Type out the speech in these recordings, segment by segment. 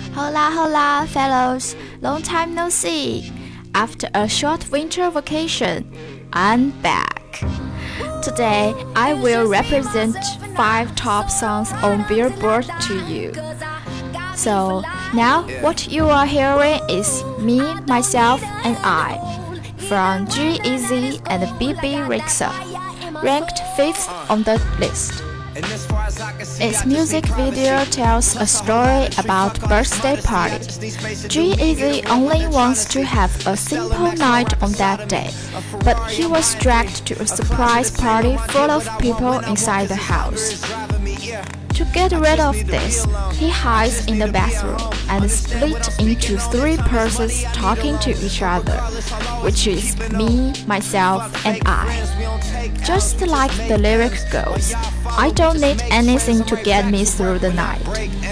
Hola, hola, fellows! Long time no see! After a short winter vacation, I'm back. Today, I will represent 5 top songs on Billboard to you. So, now what you are hearing is Me, Myself, and I from G-Eazy and BB Rexa, ranked 5th on the list. Its music video tells a story about birthday party. G-Eazy only wants to have a simple night on that day, but he was dragged to a surprise party full of people inside the house. To get rid of this, he hides in the bathroom and split into 3 persons talking to each other, which is me, myself, and I. Just like the lyric goes, I don't need anything to get me through the night.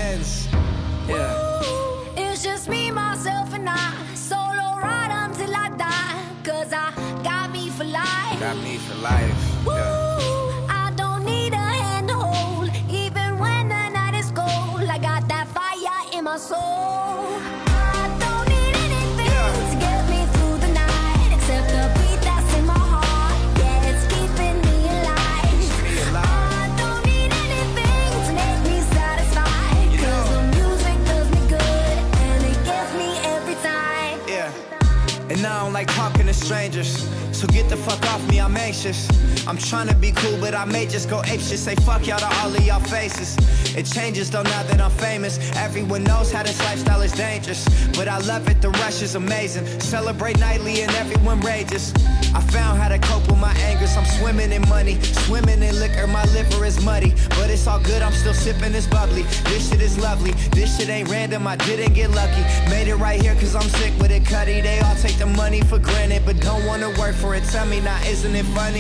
It's just me, myself, and I. Solo ride until I die. 'Cause I got me for life. Got me for life. I don't need a hand to hold. Even when the night is cold, I got that fire in my soul. I don't need anything to get me through the night except the beat that's in my heart. Yeah, it's keeping me alive. I don't need anything to make me satisfied. 'Cause the music does me good and it gets me every time. Yeah. And I don't like talking to strangers, so get the fuck off me, I'm anxious. I'm trying to be cool, but I may just go apeshit. Say fuck y'all to all of y'all faces. It changes though now that I'm famous. Everyone knows how this lifestyle is dangerous, but I love it, the rush is amazing. Celebrate nightly and everyone rages. I found how to cope with my angers. I'm swimming in money, swimming in liquor. My liver is muddy, but it's all good, I'm still sipping this bubbly. This shit is lovely, this shit ain't random, I didn't get lucky. Made it right here cause I'm sick with it, Cuddy. They all take the money for granted, but don't wanna work for it. Tell me now, isn't it funny?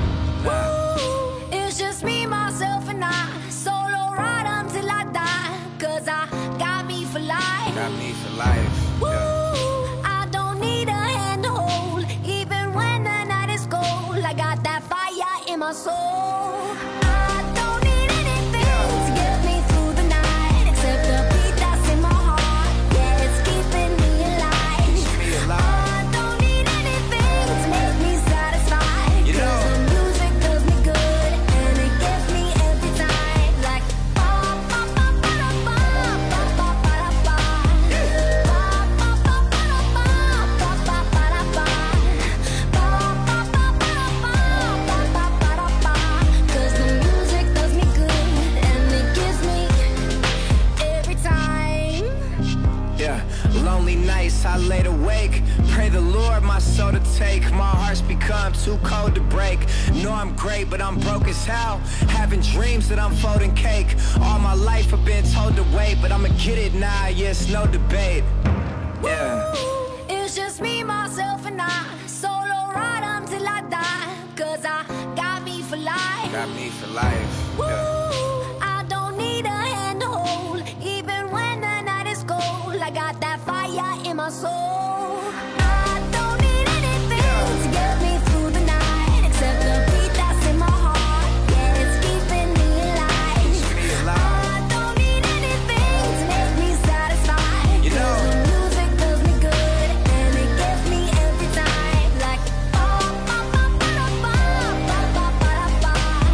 It's just me, myself, and I. Solo ride until I die. 'Cause I got me for life. Got me for life. I don't need a hand to hold. Even when the night is cold, I got that fire in my soul. I don't need anything to get me through the night except the beat that's in my heart. Yeah, it's keeping me alive. I don't need anything to make me satisfied. 'Cause the music does me good and it gets me every time. Like ba ba ba ba ba ba ba ba ba. Cause the music does me good and it gives me every time. Yeah, lonely nights I laid awake. Pray the Lord my soul to take. My heart's become too cold to break. Know I'm great, but I'm broke as hell. Having dreams that I'm folding cake. All my life I've been told to wait, but I'ma get it now, yeah, it's no debate. Yeah. It's just me, myself, and I. Solo ride until I die. 'Cause I got me for life. Got me for life. Yeah. I don't need a hand to hold. Even when the night is cold, I got that fire in my soul. I don't need anything to get me through the night except the beat that's in my heart. Yeah, it's keeping me alive. I don't need anything to make me satisfied. 'Cause the music does me good and it gets me every time. Like ba ba ba ba ba ba ba ba ba.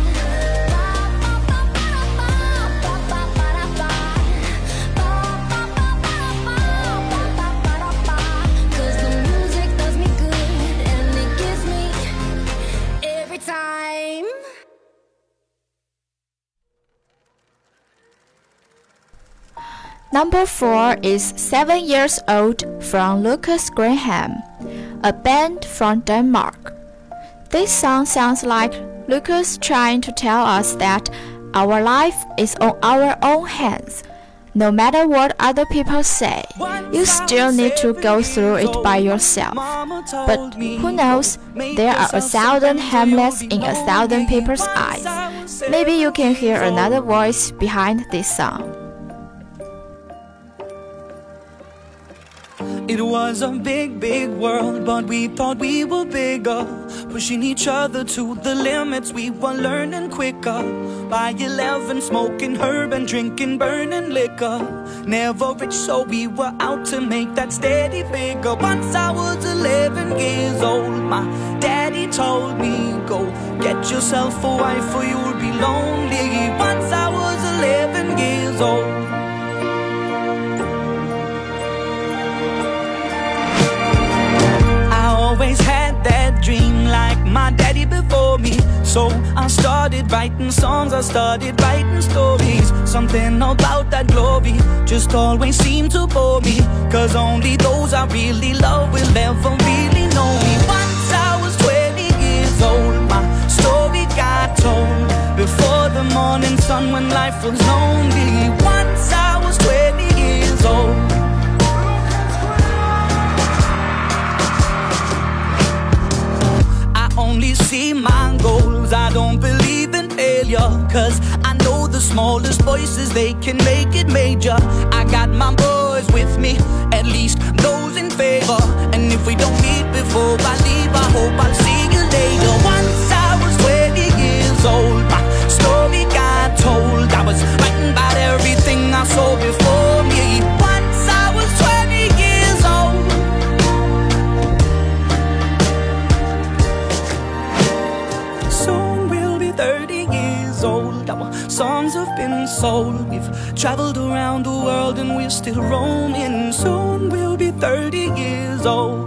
Cause the music does me good and it gives me every time. Number 4 is 7 Years Old from Lucas Graham, a band from Denmark. This song sounds like Lucas trying to tell us that our life is on our own hands. No matter what other people say, you still need to go through it by yourself. But who knows, there are 1,000 Hamlets in 1,000 people's eyes. Maybe you can hear another voice behind this song. It was a big, big world, but we thought we were bigger, pushing each other to the limits. We were learning quicker. By 11, smoking herb and drinking burning liquor. never rich, so we were out to make that steady figure. Once I was 11 years old, my daddy told me, go get yourself a wife or you'll be lonely. Once I was 11 years old. I always had that dream like my daddy before me, so I started writing songs, I started writing stories. Something about that glory just always seemed to bore me, cause only those I really love will ever really know me. Once I was 20 years old, my story got told before the morning sun when life was lonely. Once I was 20 years old. Only see my goals, I don't believe in failure, cause I know the smallest voices, they can make it major. I got my boys with me, at least those in favor, and if we don't meet before I leave, I hope I'll see you later. Once I was 20 years old, my story got told. I was writing about everything I saw before me. Once I was 20 years old. Soon we'll be 30 years old. Our songs have been sold. We've traveled around the world and we're still roaming. Soon we'll be 30 years old.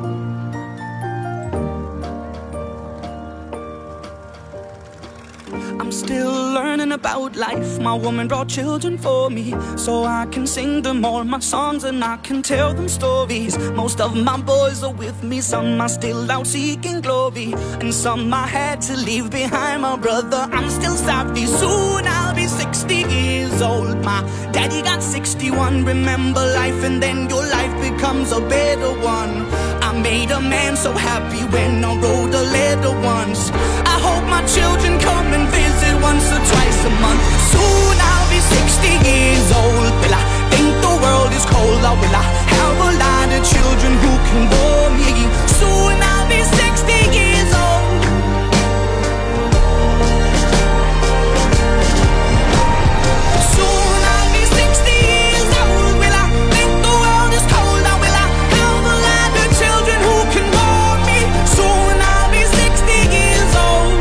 I'm still learning about life. My woman brought children for me, so I can sing them all my songs and I can tell them stories. Most of my boys are with me, some are still out seeking glory, and some I had to leave behind. My brother, I'm still sorry. Soon I'll be 60 years old. My daddy got 61. Remember life and then your life becomes a better one. I made a man so happy when I wrote a letter once. I hope my children come and visit once or twice a month. Soon I'll be 60 years old. Will I think the world is cold, or will I have a lot of children who can bore me? Soon I'll be 60 years old. Soon I'll be 60 years old. Will I think the world is cold, or will I have a lot of children who can bore me? Soon I'll be 60 years old.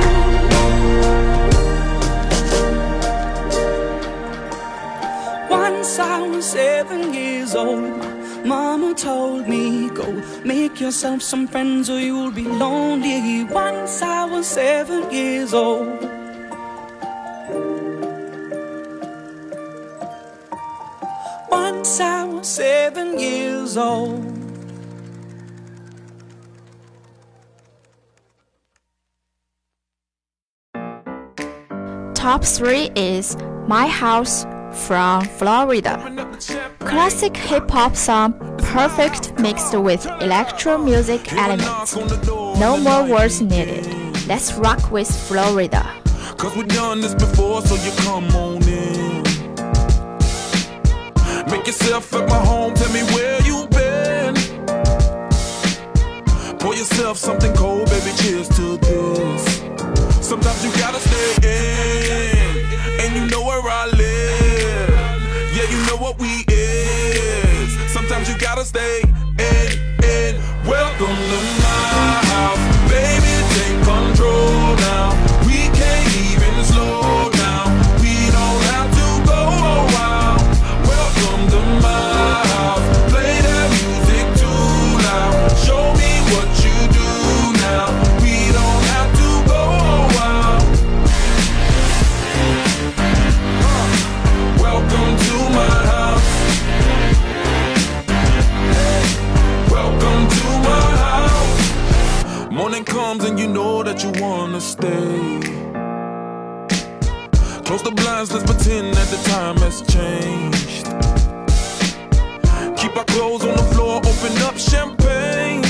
Once I was 7 years old, my mama told me, go make yourself some friends or you'll be lonely. Once I was 7 years old. Once I was 7 years old. Top 3 is My House from Florida. Classic hip-hop song, perfect mixed with electro music elements. No more words needed. Let's rock with Florida. Cause we've done this before, so you come on in. Make yourself at my home, tell me where you've been. Pour yourself something cold, baby, cheers to this. Sometimes you gotta stay in, and you know where I live. Yeah, you know what we is. Sometimes you gotta stay in. Welcome to my house, baby, take control now. We can't even slow down. We don't have to go a while. Welcome to my house, play that music too loud. Show me what you do now. We don't have to go a while. Welcome to my house. Welcome to my house. Morning comes and you know that you wanna stay. Close the blinds, let's pretend that the time has changed. Keep our clothes on the floor, open up champagne.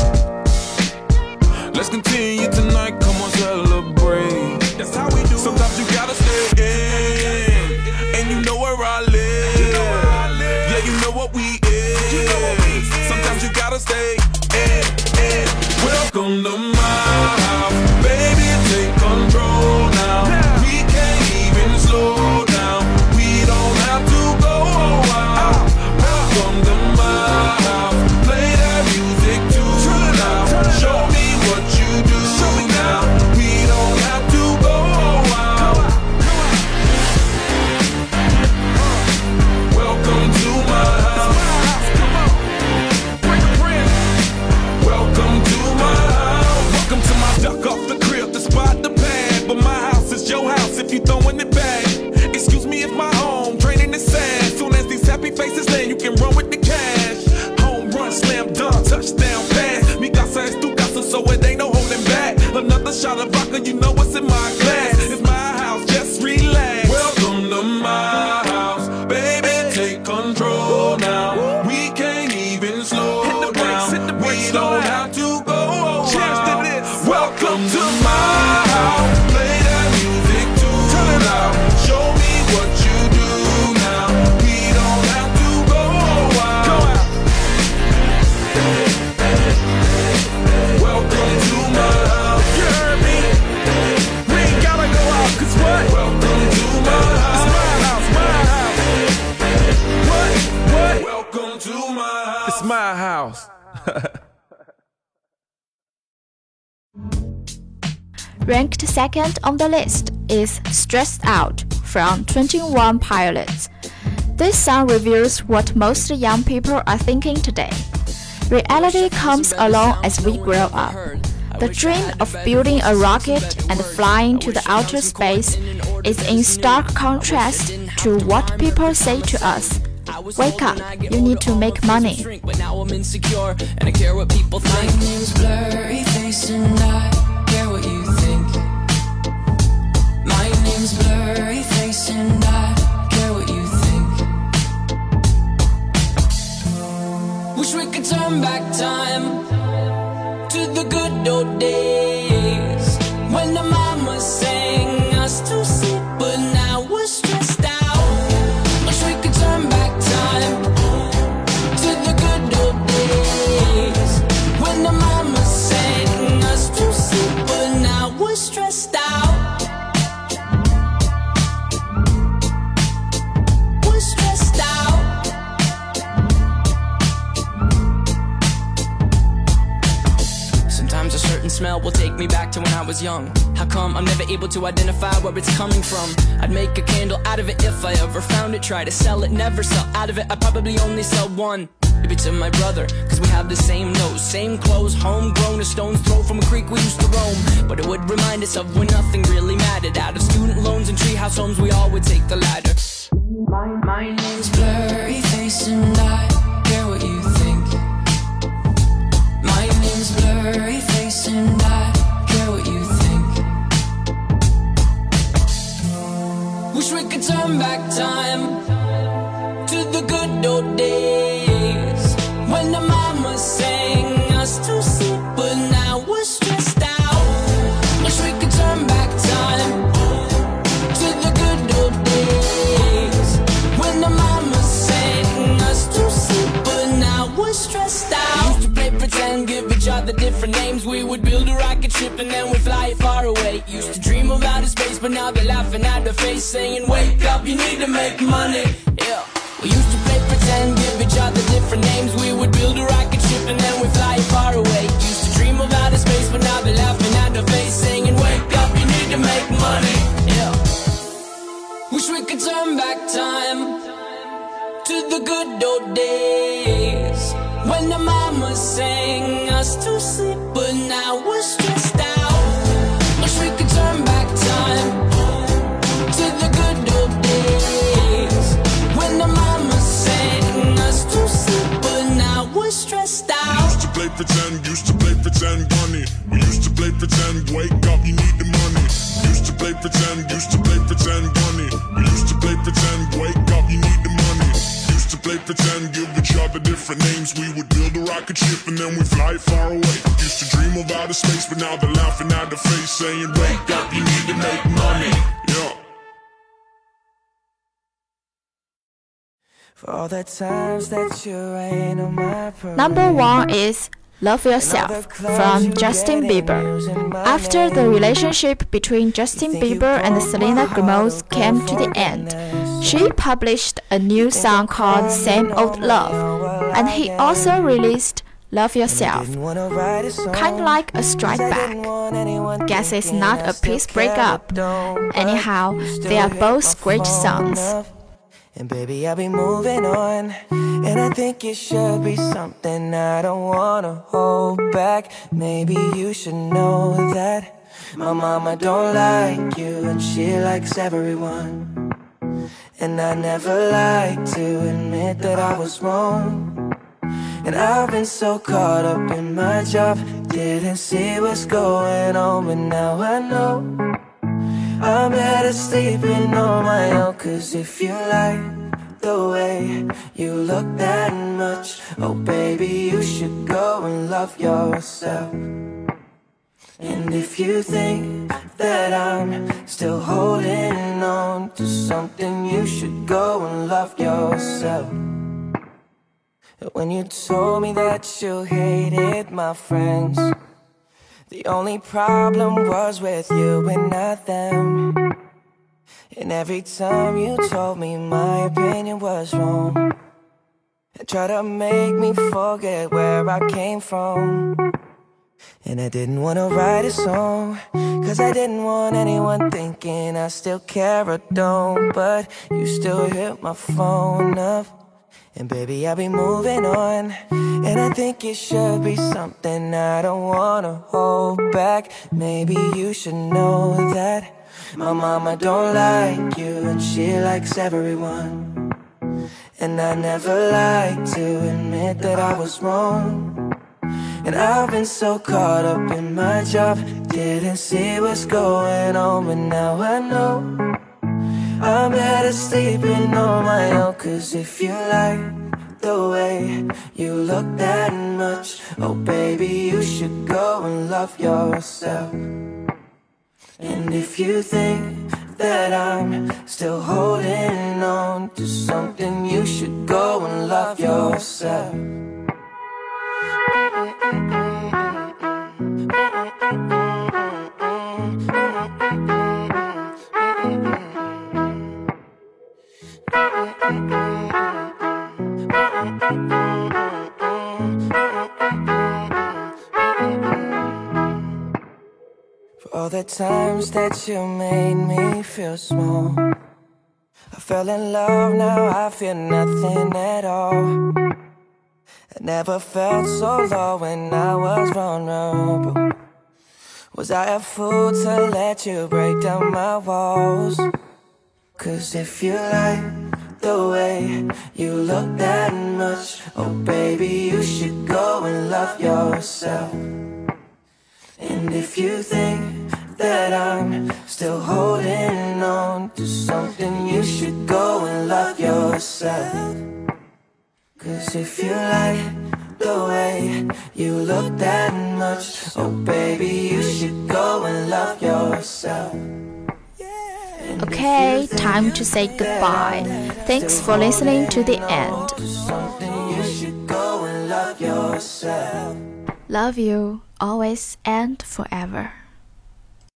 Let's continue tonight, come on, celebrate. That's how we do. Sometimes you gotta stay in, and you know where I live. Yeah, you know what we is. Sometimes you gotta stay in. Welcome to my house, baby, take control now. We can't even slow down. We don't have to go a while. can run with the cash. Home run, slam dunk, touchdown pass. Mi casa es tu casa, so it ain't no holding back. Another shot of vodka, you know what's in my glass. It's my house, just relax. Welcome to my house, baby, take control now. We can't even slow down. We don't have to go. Cheers to this. Welcome to my house. Play that music too loud. Show me what you do now. We don't have to go out. Welcome to my house. You heard me? We ain't gotta go out, 'cause what? Welcome to my house. It's my house, my house. What? Welcome to my house. It's my house. Ranked second on the list is Stressed Out from 21 Pilots. This song reveals what most young people are thinking today. Reality comes along as we grow up. The dream of building a rocket and flying to the outer space is in stark contrast to what people say to us. Wake up, you need to make money. But now I'm insecure and I care what people think. My name's blurry face and I care what you think. My name's blurry face and I care what you think. Wish we could turn back time to the good old days when the mama sang us to sleep, but now we're stressed out. Wish we could turn back time to the good old days when the mama sang us to sleep, but now we're stressed out. We're stressed out. Sometimes a certain smell will take me back to when I was young. How come I'm never able to identify where it's coming from? I'd make a candle out of it if I ever found it. Try to sell it, never sell out of it. I'd probably only sell one. Maybe to my brother, cause we have the same nose, same clothes, homegrown, a stone's throw from a creek we used to roam. But it would remind us of when nothing really mattered. Out of student loans and treehouse homes, we all would take the ladder. My name's blurry face and I care what you think. My name's blurry face and I care what you think. Wish we could turn back time to the good old days when the mama sang us to sleep, but now we're stressed out. Wish we could turn back time to the good old days when the mama sang us to sleep, but now we're stressed out. Used to play pretend, give each other different names. We would build a rocket ship and then we'd fly far away. Used to dream of outer space, but now they're laughing at the face, saying, wake up, you need to make money. Yeah. We used to play pretend, give each other different names. We would build a rocket ship and then we'd fly far away. Used to dream of outer space, but now they're laughing at the face, saying, wake up, you need to make money. Yeah. Wish we could turn back time to the good old days when the mama sang us to sleep, but now we're stressed out. Wish we could turn back time to the good old days when the mama sang us to sleep, but now we're stressed out. Used to play pretend, bunny. We used to play pretend, wake up, you need the money. Used to play pretend, bunny. We used to play pretend, wake up, you need the money. Used to play pretend, give each other different names. We would build a rocket ship and then we fly far away. Used to dream of outer space, but now they're laughing at the face, saying, wake up, you need to make money. Yeah. For all the times that you rain on my parade. Number 1 is Love Yourself from Justin Bieber. After the relationship between Justin Bieber and Selena Gomez came to the end, she published a new song called Same Old Love, and he also released Love Yourself, kind of like a strike back. Guess it's not a peace breakup. Anyhow, they are both great songs. And baby, I'll be moving on, and I think it should be something I don't wanna hold back. Maybe you should know that my mama don't like you, and she likes everyone. And I never like to admit that I was wrong. And I've been so caught up in my job, didn't see what's going on, but now I know I'm better sleeping on my own. Cause if you like the way you look that much, oh baby, you should go and love yourself. And if you think that I'm still holding on to something, you should go and love yourself. When you told me that you hated my friends, the only problem was with you and not them. And every time you told me my opinion was wrong, and tried to make me forget where I came from. And I didn't want to write a song, cause I didn't want anyone thinking I still care or don't. But you still hit my phone up, and baby, I'll be moving on. And I think it should be something I don't wanna hold back. Maybe you should know that my mama don't like you, and she likes everyone. And I never like to admit that I was wrong. And I've been so caught up in my job, didn't see what's going on, but now I know I'm better sleeping on my own. Cause if you like the way you look that much, oh baby, you should go and love yourself. And if you think that I'm still holding on to something, you should go and love yourself. For all the times that you made me feel small, I fell in love, now I feel nothing at all. I never felt so low when I was vulnerable. Was I a fool to let you break down my walls? Cause if you like the way you look that much, oh baby, you should go and love yourself. And if you think that I'm still holding on to something, you should go and love yourself. Cause if you like the way you look that much, oh baby, you should go and love yourself. Okay, time to say goodbye. Thanks for listening to the end. Love you, always and forever.